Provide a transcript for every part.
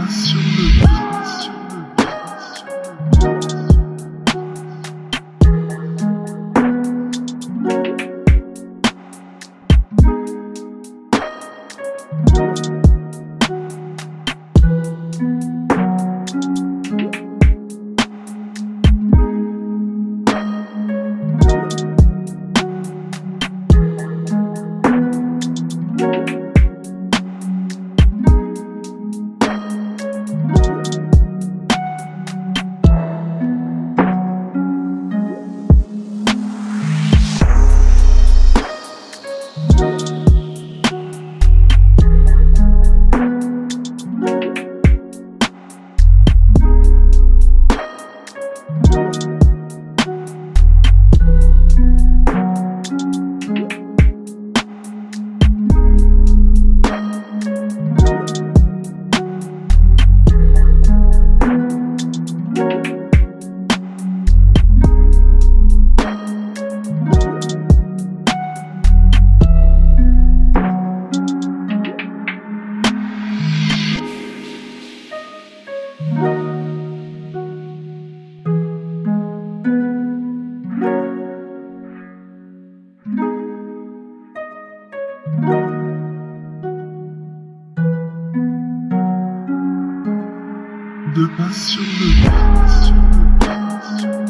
pas sur le pas sur de pas sur le pas sur le pas sur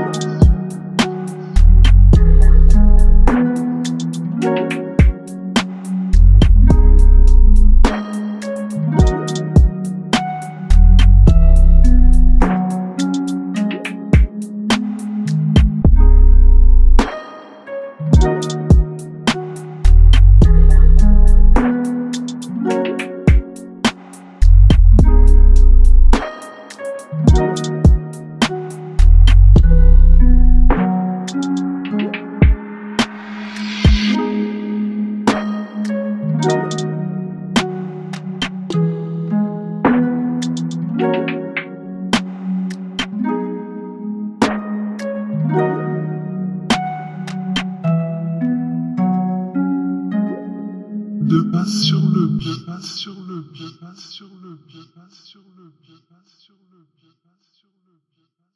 de pas sur le pas sur le pas sur le pas sur le pas sur le pas sur le